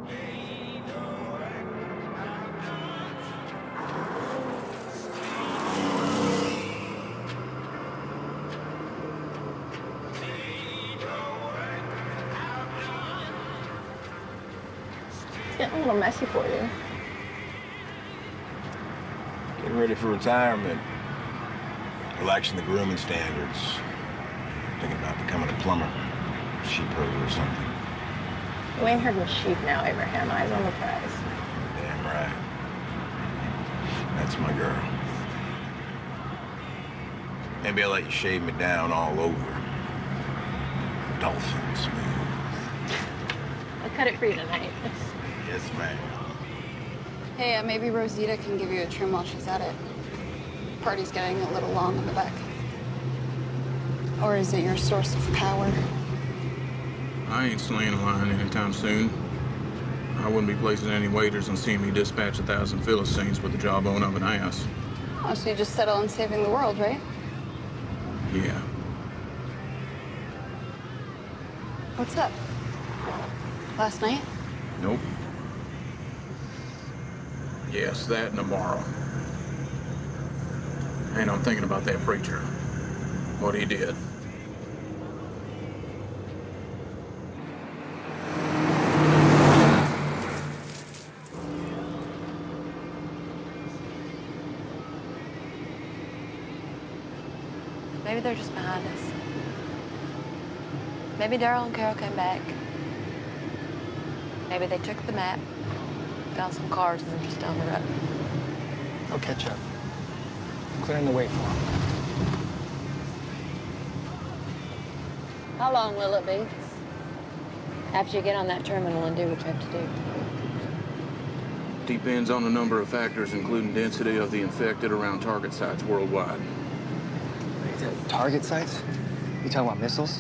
It's getting a little messy for you. Getting ready for retirement. Relaxing the grooming standards. Thinking about becoming a plumber, sheep herder or something. You ain't herding sheep now, Abraham. Eyes on the prize. Damn right. That's my girl. Maybe I'll let you shave me down all over. Dolphin smooth. I'll cut it for you tonight. Yes, ma'am. Hey, maybe Rosita can give you a trim while she's at it. Party's getting a little long in the back. Or is it your source of power? I ain't slaying a lion anytime soon. I wouldn't be placing any wagers on seeing me dispatch 1,000 Philistines with the jawbone of an ass. Oh, so you just settle on saving the world, right? Yeah. What's up? Last night? Nope. Yes, that and tomorrow. And I'm thinking about that preacher. What he did. Maybe they're just behind us. Maybe Daryl and Carol came back. Maybe they took the map, found some cars, and they're just down the road. I'll catch up. I'm clearing the way for them. How long will it be? After you get on that terminal and do what you have to do. Depends on a number of factors, including density of the infected around target sites worldwide. Target sites? You talking about missiles?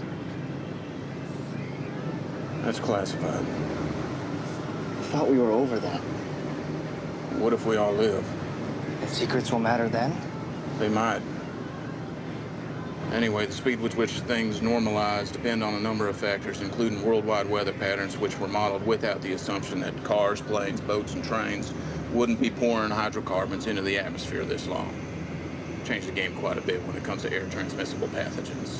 That's classified. I thought we were over that. What if we all live? And secrets will matter then? They might. Anyway, the speed with which things normalize depend on a number of factors, including worldwide weather patterns, which were modeled without the assumption that cars, planes, boats, and trains wouldn't be pouring hydrocarbons into the atmosphere this long. Changed the game quite a bit when it comes to air transmissible pathogens.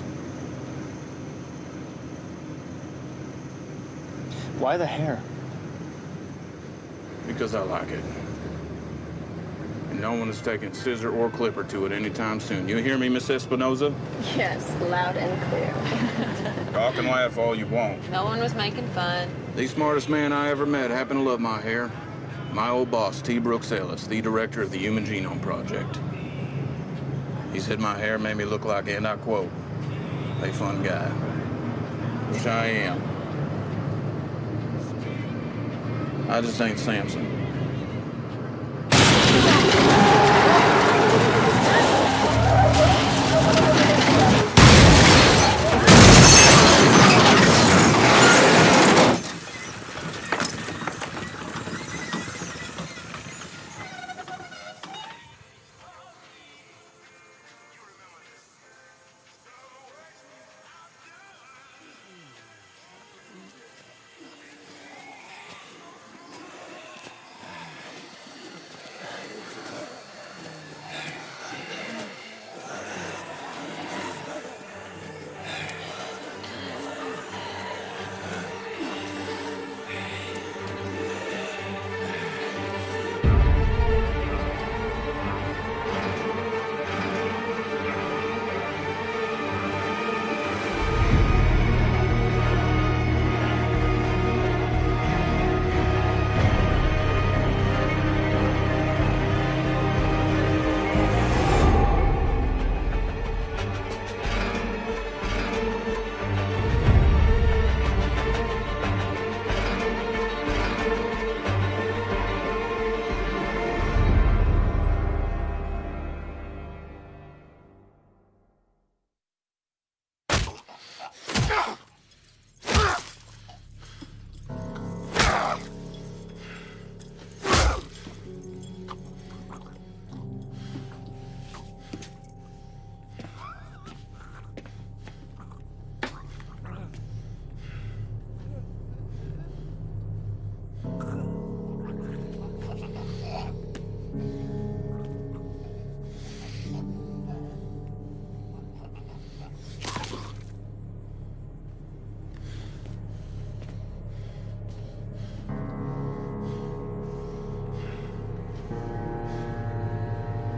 Why the hair? Because I like it. And no one is taking scissor or clipper to it anytime soon. You hear me, Miss Espinoza? Yes, loud and clear. Talk and laugh all you want. No one was making fun. The smartest man I ever met happened to love my hair. My old boss, T. Brooks Ellis, the director of the Human Genome Project. He said my hair made me look like, and I quote, a fun guy. Which I am. I just ain't Samson.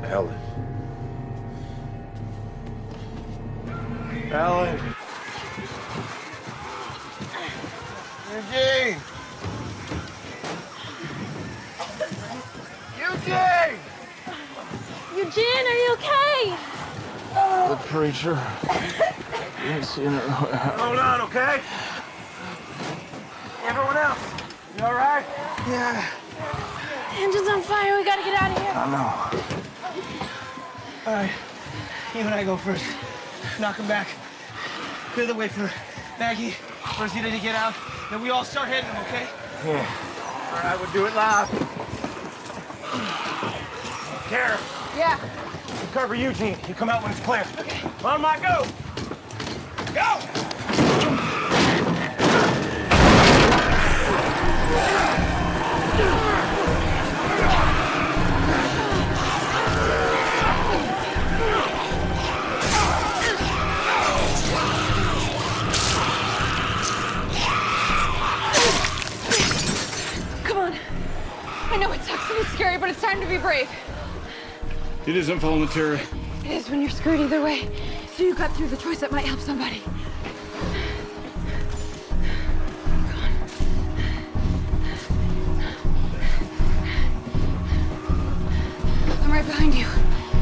Ellen. Ellen. Eugene! Eugene! Eugene, are you okay? The preacher. You ain't seen her. Hold on, okay? Everyone else, you all right? Yeah. The engine's on fire. We gotta get out of here. I know. All right. You and I go first. Knock him back. Clear the way for Maggie, Rosita to get out. Then we all start heading, okay? Yeah. All right, we'll do it live. Kara. Yeah. You cover Eugene. You come out when it's clear. Okay. On my go. Go! Come on. I know it sucks and it's scary, but it's time to be brave. It is involuntary. It is when you're screwed either way. So you got through the choice that might help somebody. I'm right behind you.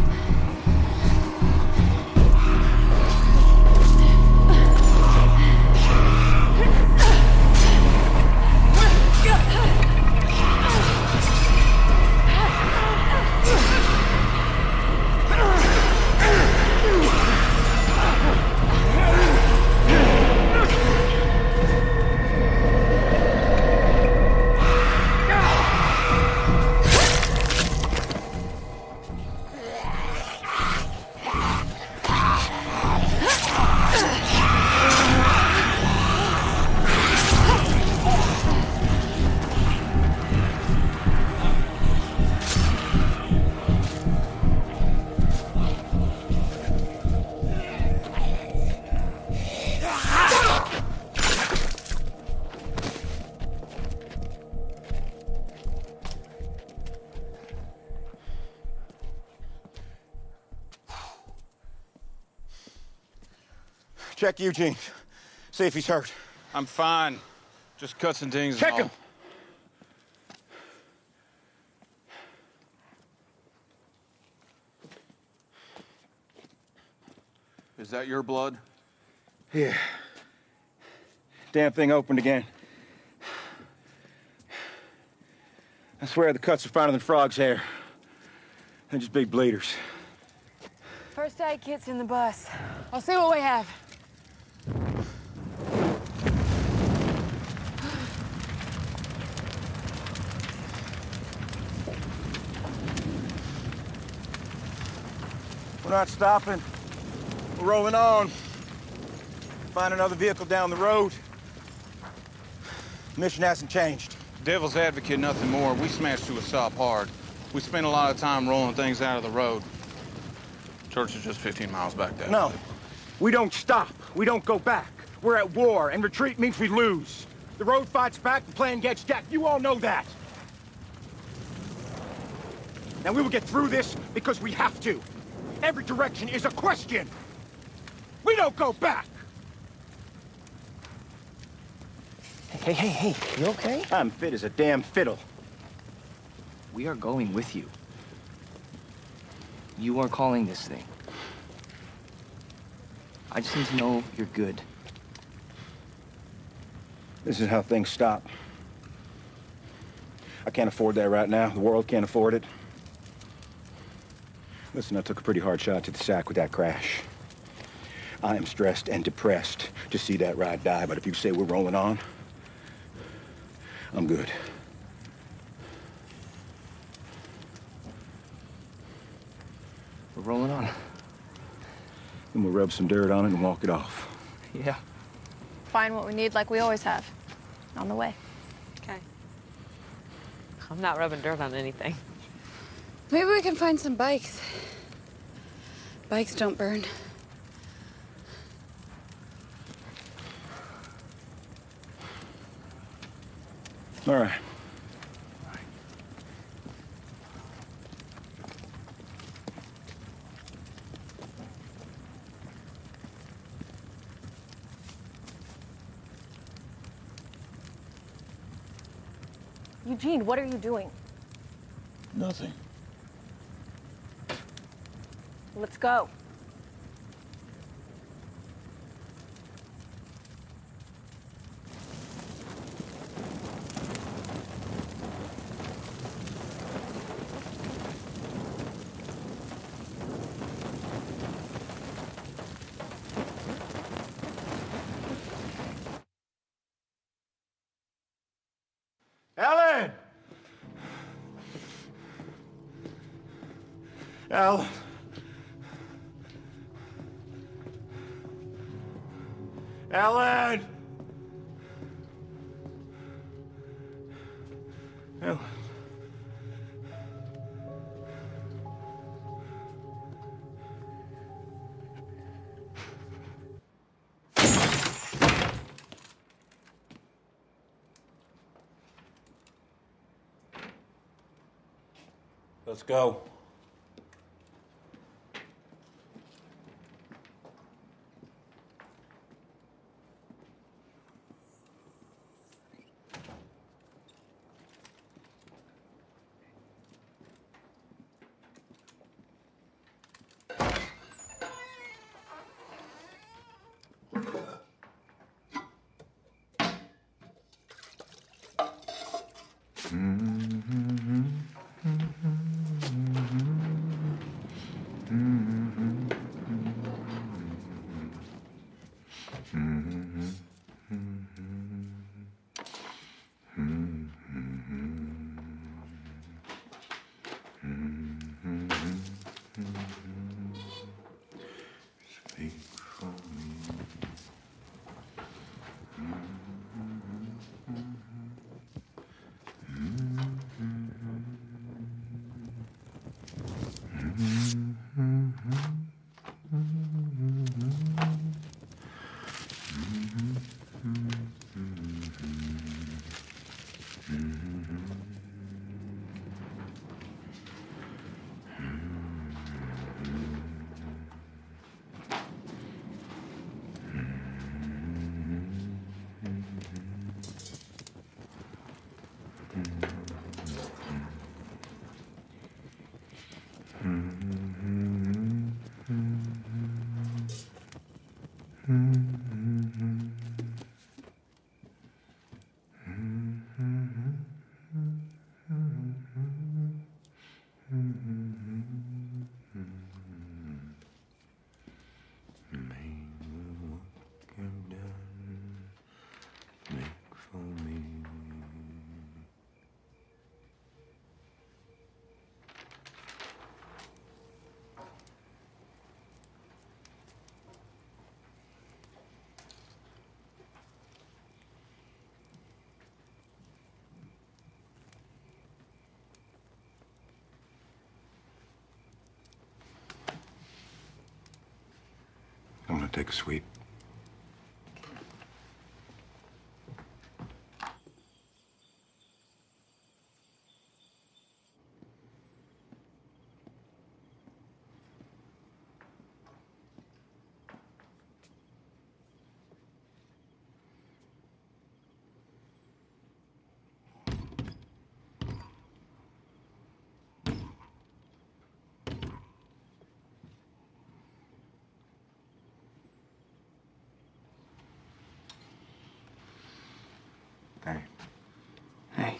Check Eugene. See if he's hurt. I'm fine. Just cuts and dings. Check him. Is that your blood? Yeah. Damn thing opened again. I swear the cuts are finer than frog's hair. They're just big bleeders. First aid kit's in the bus. I'll see what we have. We're not stopping. We're rolling on. Find another vehicle down the road. Mission hasn't changed. Devil's advocate, nothing more. We smashed to a stop hard. We spent a lot of time rolling things out of the road. Church is just 15 miles back that No. way. We don't stop. We don't go back. We're at war, and retreat means we lose. The road fights back, the plan gets jacked. You all know that. Now, we will get through this because we have to. Every direction is a question. We don't go back. Hey, you okay? I'm fit as a damn fiddle. We are going with you. You are calling this thing. I just need to know you're good. This is how things stop. I can't afford that right now. The world can't afford it. Listen, I took a pretty hard shot to the sack with that crash. I am stressed and depressed to see that ride die, but if you say we're rolling on, I'm good. We're rolling on. Then we'll rub some dirt on it and walk it off. Yeah. Find what we need like we always have. On the way. Okay. I'm not rubbing dirt on anything. Maybe we can find some bikes. Bikes don't burn. All right. Eugene, what are you doing? Nothing. Let's go. Ellen! Ellen! Ellen! Ellen. Let's go. I'm gonna take a sweep. Hey. Hey.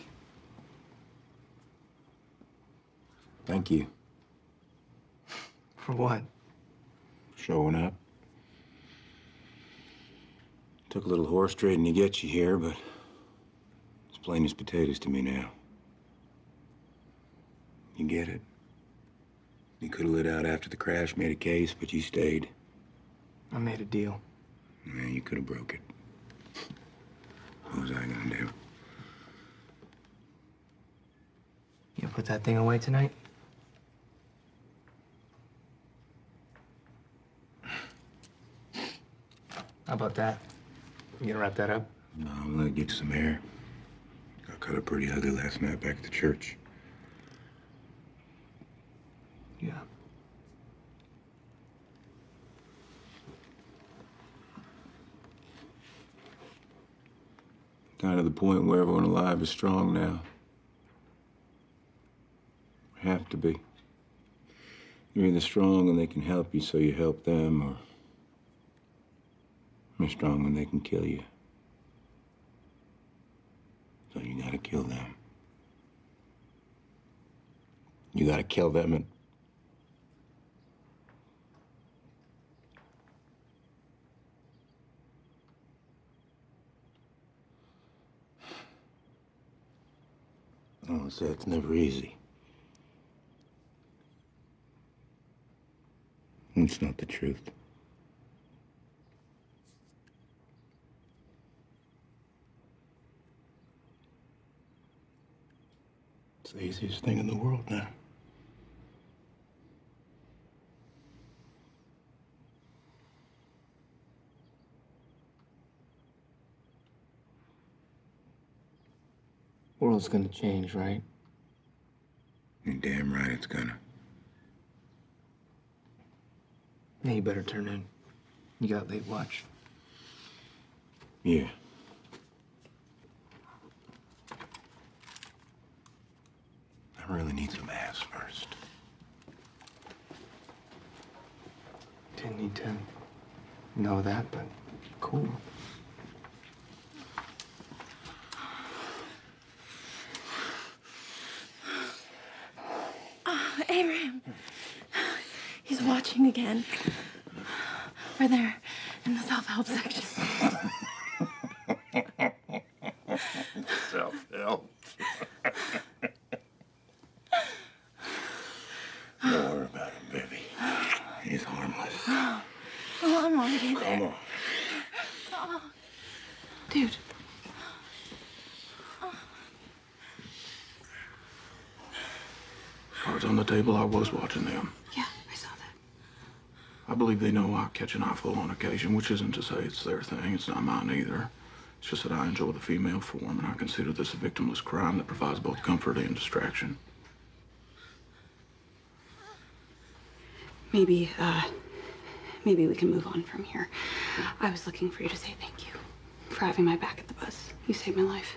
Thank you. For what? Showing up. Took a little horse trading to get you here, but it's plain as potatoes to me now. You get it. You could have lit out after the crash, made a case, but you stayed. I made a deal. Yeah, you could have broke it. What was I gonna do? You put that thing away tonight? How about that? You gonna wrap that up? No, I'm gonna get some air. Got cut up pretty ugly last night back at the church. Yeah. Kind of the point where everyone alive is strong now. have to be. You're either strong and they can help you, so you help them, or you're strong and they can kill you. So you gotta kill them. You gotta kill them and... Oh, so it's never easy. It's not the truth. It's the easiest thing in the world now. World's gonna change, right? You're damn right it's gonna. Yeah, you better turn in. You got late watch. Yeah. I really need some ass first. Didn't need to know that, but cool. Abraham. He's watching again. We're there in the self-help section. Self-help. Don't worry about him, baby. He's harmless. Oh, I'm already there. Come on. Oh. Dude. Cards on the table, I was watching them. Yeah, I saw that. I believe they know I catch an eyeful on occasion, which isn't to say it's their thing. It's not mine either. It's just that I enjoy the female form, and I consider this a victimless crime that provides both comfort and distraction. Maybe we can move on from here. I was looking for you to say thank you for having my back at the bus. You saved my life.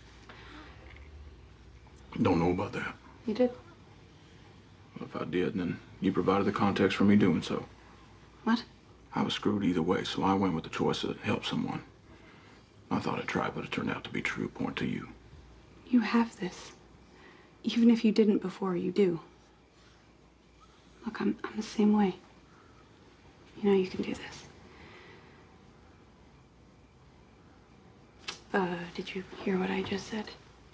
Don't know about that. You did? Well, if I did, then you provided the context for me doing so. What? I was screwed either way, so I went with the choice that helped someone. I thought I'd try, but it turned out to be true. Point to you. You have this. Even if you didn't before, you do. Look, I'm the same way. You know you can do this. Did you hear what I just said?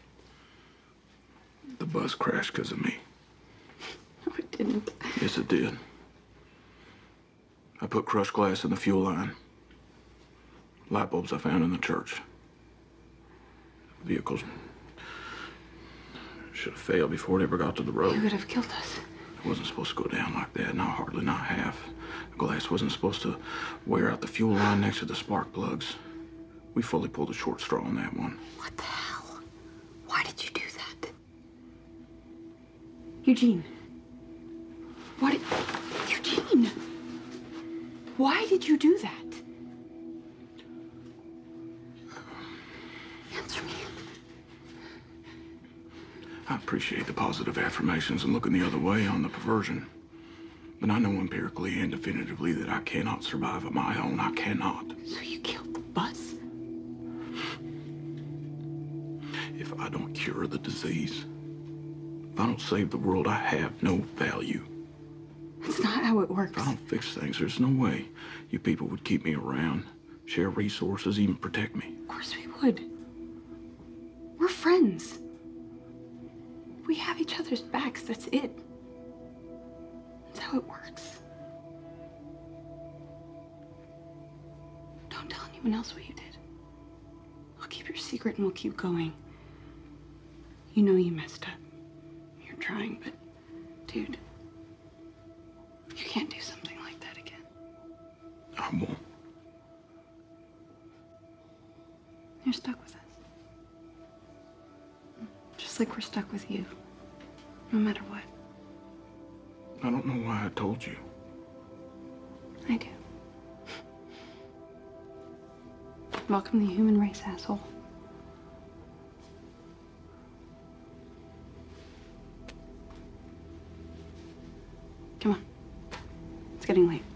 The bus crashed because of me. No, it didn't. Yes, it did. I put crushed glass in the fuel line. Light bulbs I found in the church. Vehicles should have failed before it ever got to the road. You would have killed us. It wasn't supposed to go down like that, not half. The glass wasn't supposed to wear out the fuel line next to the spark plugs. We fully pulled a short straw on that one. What the hell? Why did you do that? Eugene. Eugene! Why did you do that? Answer me. I appreciate the positive affirmations and looking the other way on the perversion. But I know empirically and definitively that I cannot survive on my own. I cannot. So you killed the bus? If I don't cure the disease, if I don't save the world, I have no value. That's not how it works. If I don't fix things, there's no way you people would keep me around, share resources, even protect me. Of course we would. We're friends. We have each other's backs, that's it. That's how it works. Don't tell anyone else what you did. I'll keep your secret and we'll keep going. You know you messed up. You're trying, but dude, you can't do something like that again. I won't. You're stuck with us. Just like we're stuck with you. No matter what. I don't know why I told you. I do. Welcome to the human race, asshole. Come on. It's getting late.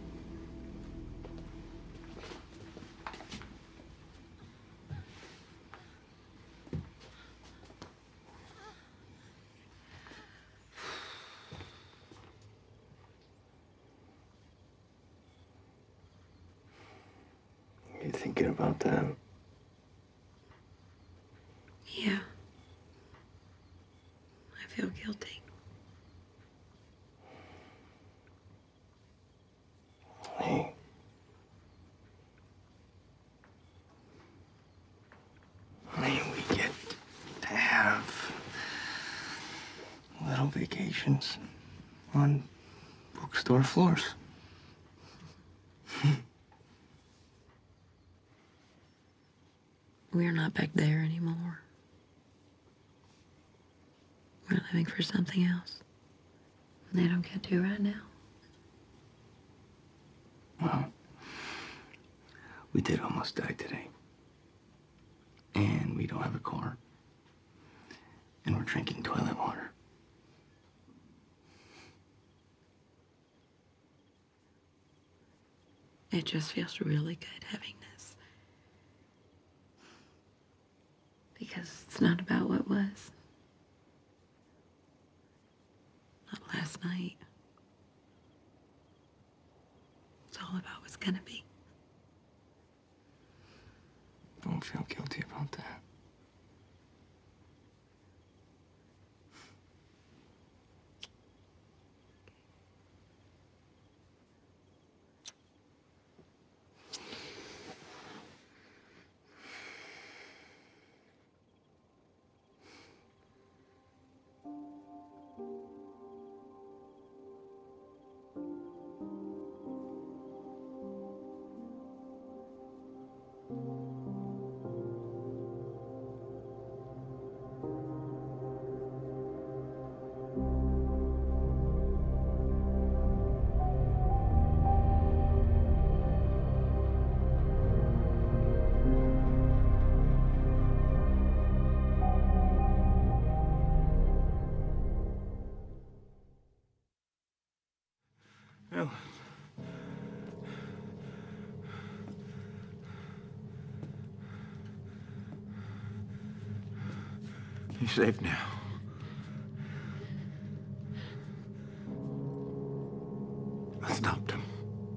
You thinking about that? Yeah. I feel guilty. Hey. Hey, we get to have little vacations on bookstore floors. We're not back there anymore. We're living for something else. And they don't get to right now. Well, we did almost die today. And we don't have a car. And we're drinking toilet water. It just feels really good having this. Because it's not about what was. Not last night. It's all about what's gonna be. Don't feel guilty about that. Well, he's safe now. I stopped him.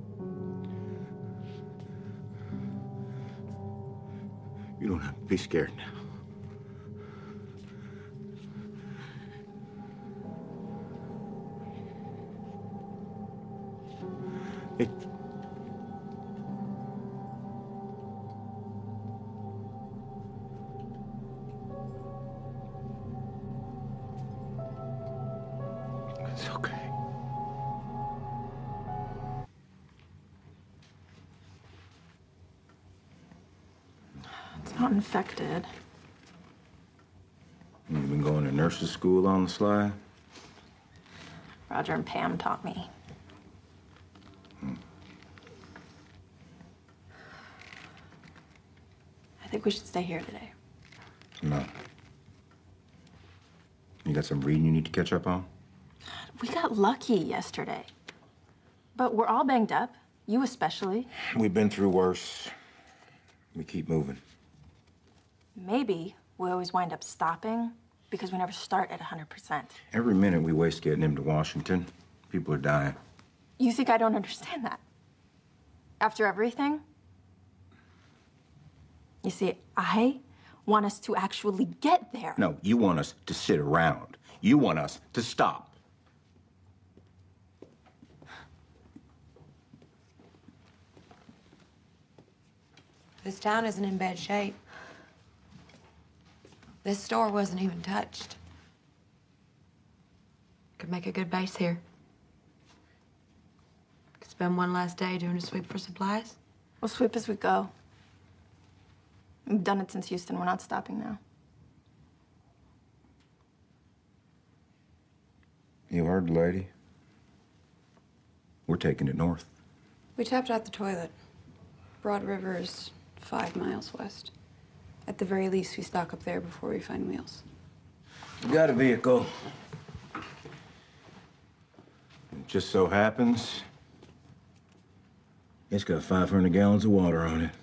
You don't have to be scared now. It... It's okay. It's not infected. You've been going to nurse's school on the sly? Roger and Pam taught me. I think we should stay here today. No. You got some reading you need to catch up on? We got lucky yesterday. But we're all banged up, you especially. We've been through worse. We keep moving. Maybe we always wind up stopping because we never start at 100%. Every minute we waste getting him to Washington, people are dying. You think I don't understand that? After everything? You see, I want us to actually get there. No, you want us to sit around. You want us to stop. This town isn't in bad shape. This store wasn't even touched. Could make a good base here. Could spend one last day doing a sweep for supplies. We'll sweep as we go. We've done it since Houston. We're not stopping now. You heard the lady. We're taking it north. We tapped out the toilet. Broad River is 5 miles west. At the very least, we stock up there before we find wheels. You got a vehicle. Just so happens it's got 500 gallons of water on it.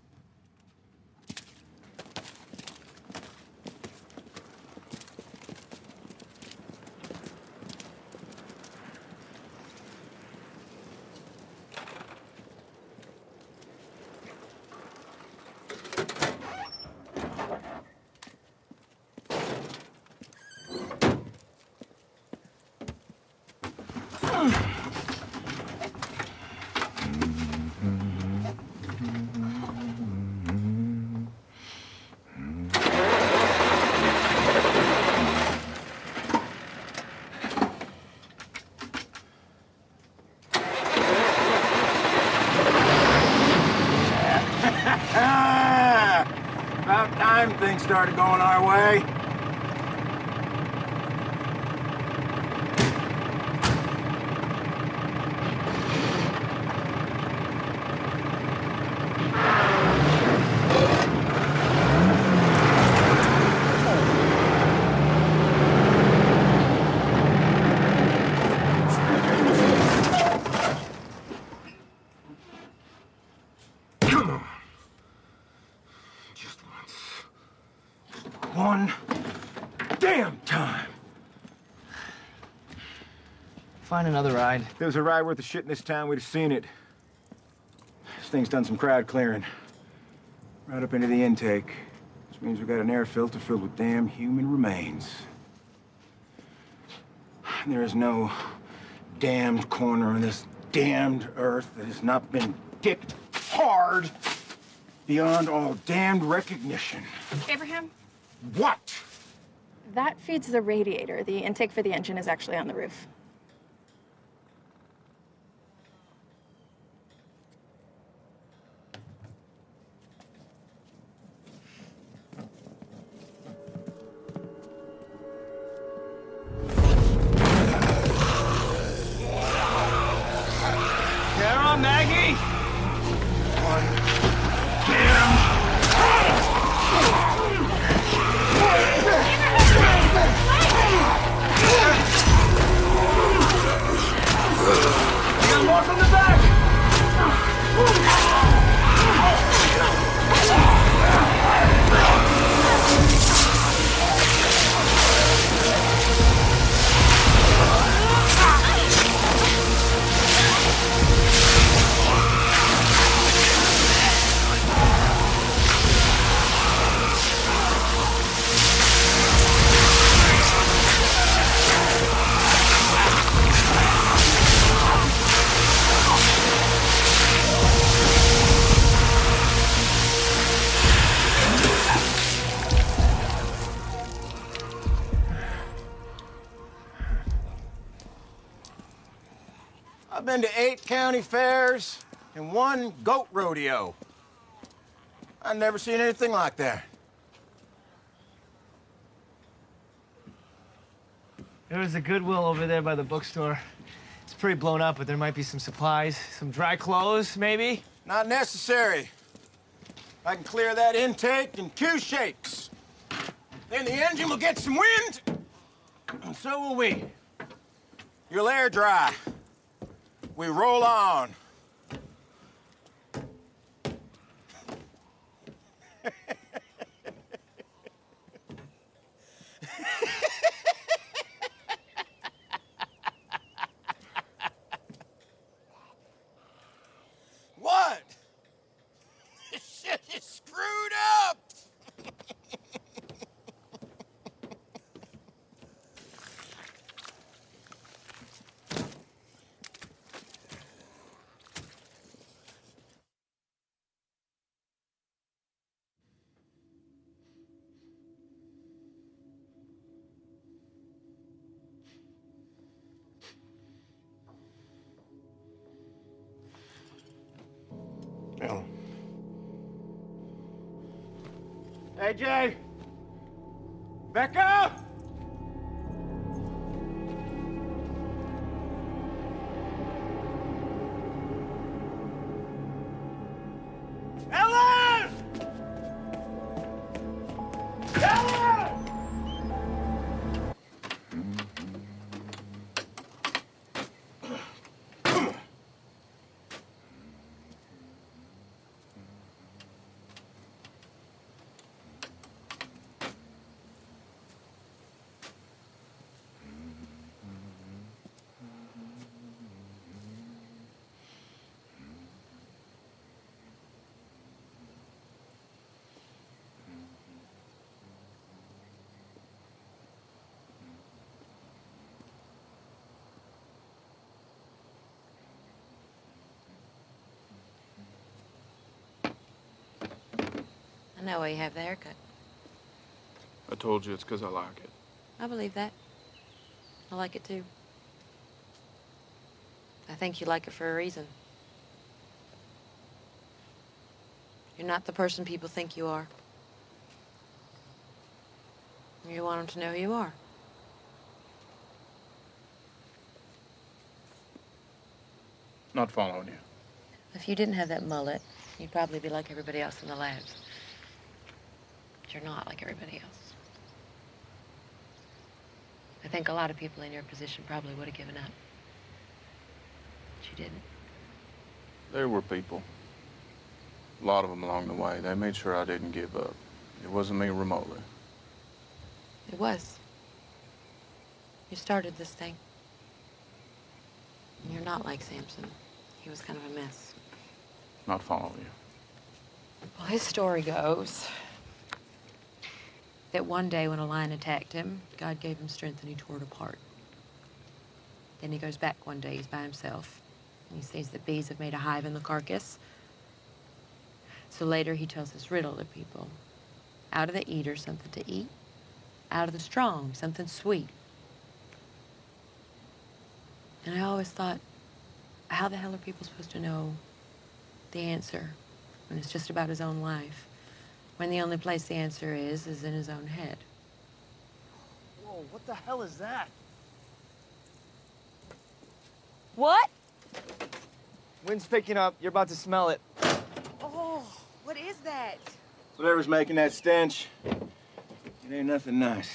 About time things started going our way. Come on. Just once. One damn time. Find another ride. If there was a ride worth a shit in this town, we'd have seen it. This thing's done some crowd clearing. Right up into the intake. Which means we got an air filter filled with damn human remains. And there is no damned corner on this damned earth that has not been kicked hard beyond all damned recognition. Abraham, What? that feeds the radiator. The intake for the engine is actually on the roof. Get on, Maggie! More from the back! I've been to 8 county fairs and 1 goat rodeo. I've never seen anything like that. There was a Goodwill over there by the bookstore. It's pretty blown up, but there might be some supplies, some dry clothes, maybe? Not necessary. I can clear that intake in 2 shakes. Then the engine will get some wind, and so will we. You'll air dry. We roll on. What? This shit is screwed up. Ellen. Hey, Jay. Becca! Ellen! Ellen! know why you have the haircut. I told you it's because I like it. I believe that. I like it too. I think you like it for a reason. You're not the person people think you are. You want them to know who you are. Not following you. If you didn't have that mullet, you'd probably be like everybody else in the labs. But you're not like everybody else. I think a lot of people in your position probably would have given up. But you didn't. There were people. A lot of them along the way. They made sure I didn't give up. It wasn't me remotely. It was. You started this thing. And you're not like Samson. He was kind of a mess. Not following you. Well, his story goes that one day when a lion attacked him, God gave him strength and he tore it apart. Then he goes back one day, he's by himself, and he sees that bees have made a hive in the carcass. So later he tells this riddle to people. Out of the eater, something to eat. Out of the strong, something sweet. And I always thought, how the hell are people supposed to know the answer when it's just about his own life? When the only place the answer is in his own head. Whoa, what the hell is that? What? Wind's picking up. You're about to smell it. Oh, what is that? Whatever's making that stench, it ain't nothing nice.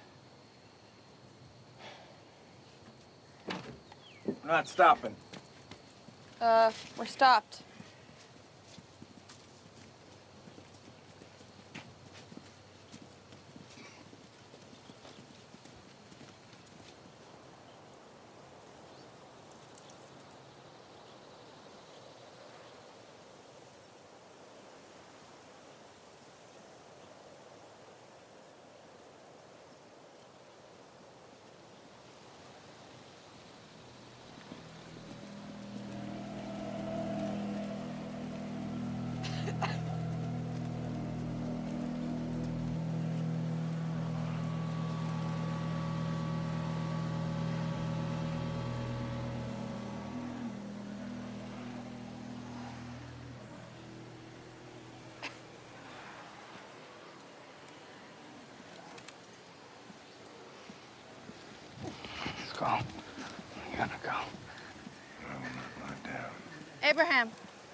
We're not stopping. We're stopped. Let's go. We gotta go. I will not lie down. Abraham.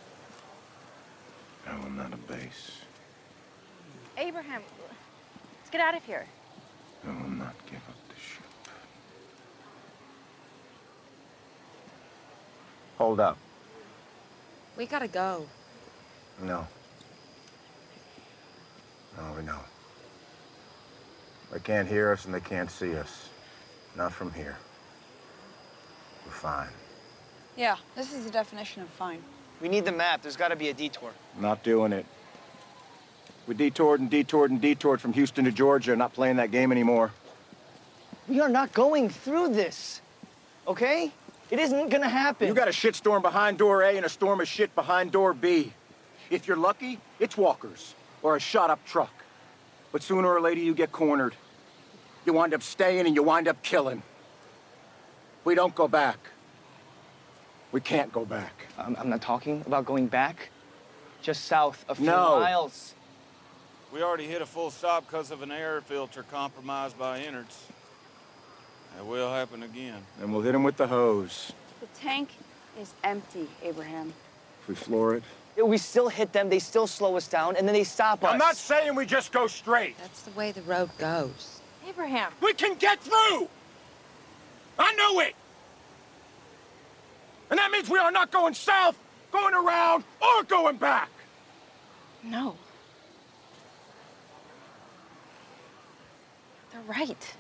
I will not abase. Abraham. Let's get out of here. I will not give up the ship. Hold up. We gotta go. No. No, no. They can't hear us and they can't see us. Not from here. We're fine. Yeah, this is the definition of fine. We need the map. There's gotta be a detour. Not doing it. We detoured and detoured and detoured from Houston to Georgia. Not playing that game anymore. We are not going through this, okay? It isn't gonna happen. You got a shitstorm behind door A and a storm of shit behind door B. If you're lucky, it's walkers or a shot-up truck. But sooner or later, you get cornered. You wind up staying and you wind up killing. We don't go back. We can't go back. I'm not talking about going back. Just south a few No. miles. We already hit a full stop because of an air filter compromised by innards. It will happen again. And we'll hit them with the hose. The tank is empty, Abraham. If we floor it. Yeah, we still hit them, they still slow us down, and then they stop us. I'm not saying we just go straight. That's the way the road goes. Abraham. We can get through! I know it! And that means we are not going south, going around, or going back! No. They're right.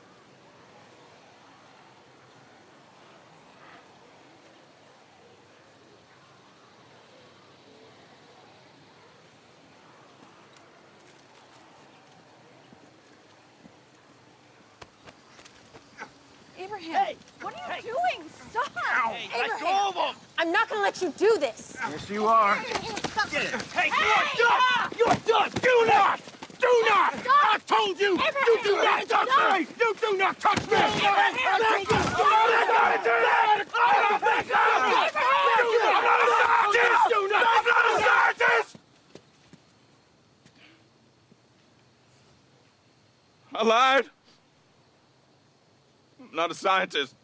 Abraham. Hey! What are you doing? Stop! Hey, let Abraham. go of them! I'm not gonna let you do this. Yes, you are. Stop. Hey, you are done! You're done! Do not! Do not! I told you! You do not touch me! You do not touch me! I told you! I'm not gonna do that! I'm not a scientist! Do not! I'm not a scientist! I lied. I'm not a scientist.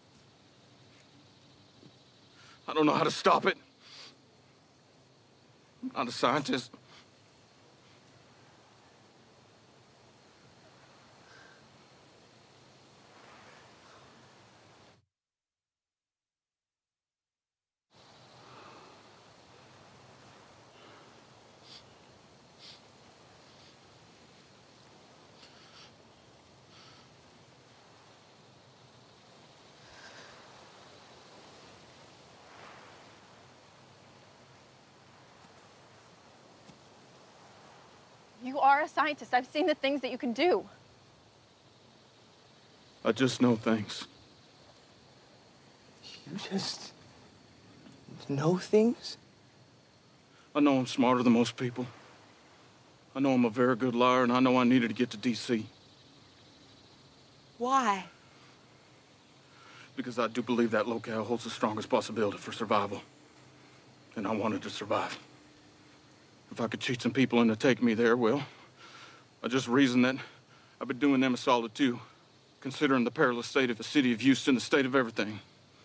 I don't know how to stop it. I'm not a scientist. You are a scientist. I've seen the things that you can do. I just know things. You just know things? I know I'm smarter than most people. I know I'm a very good liar, and I know I needed to get to D.C. Why? Because I do believe that locale holds the strongest possibility for survival. And I wanted to survive. If I could cheat some people into taking me there, well, I just reasoned that I've been doing them a solid too, considering the perilous state of the city of Houston, the state of everything.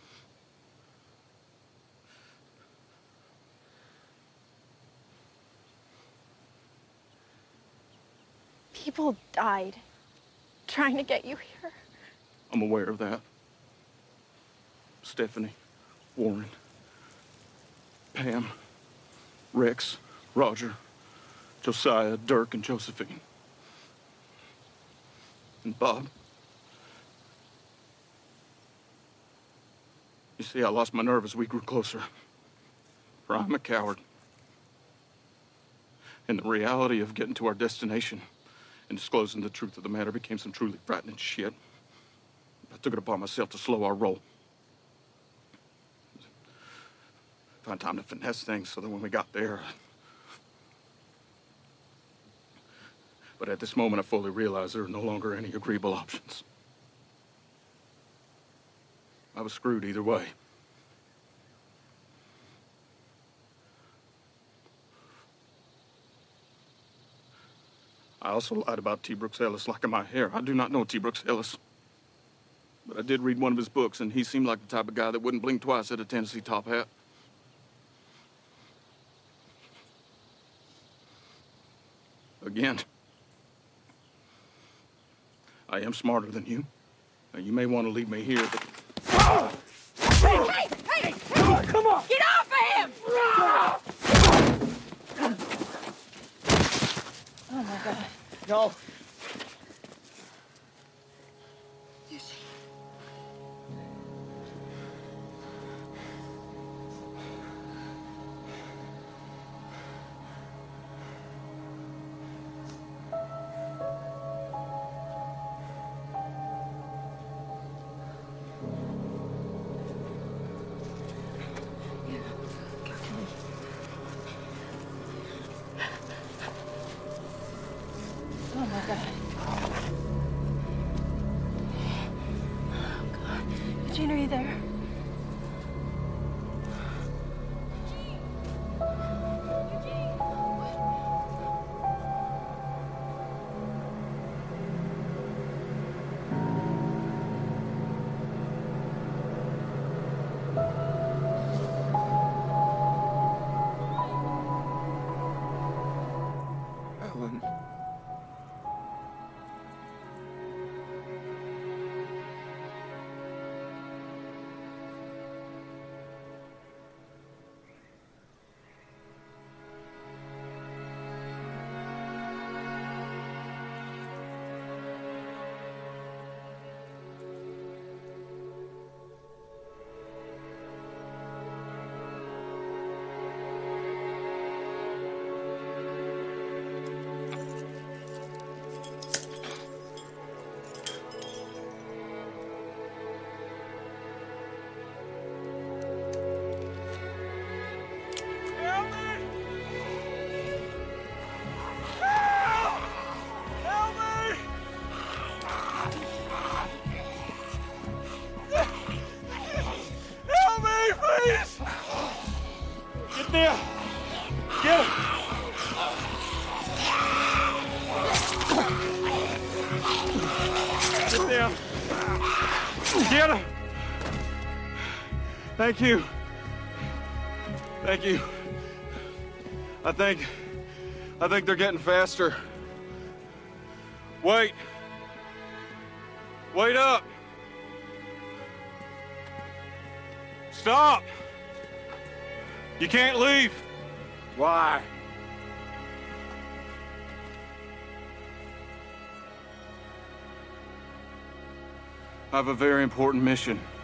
People died trying to get you here. I'm aware of that. Stephanie, Warren, Pam, Rex, Roger, Josiah, Dirk, and Josephine. And Bob. You see, I lost my nerve as we grew closer. For I'm a coward. And the reality of getting to our destination and disclosing the truth of the matter became some truly frightening shit. I took it upon myself to slow our roll. Find time to finesse things so that when we got there... But at this moment, I fully realized there are no longer any agreeable options. I was screwed either way. I also lied about T. Brooks Ellis liking my hair. I do not know T. Brooks Ellis. But I did read one of his books, and he seemed like the type of guy that wouldn't blink twice at a Tennessee top hat. Again, I am smarter than you. Now, you may want to leave me here, but... Hey! Come on! Get off of him! Oh my God. No. Oh my God. Oh God. Eugene, are you there? Ellen. down. Get him. Get down. Get him. Thank you. Thank you. I think they're getting faster. Wait. Wait up. Stop. You can't leave. Why? I have a very important mission.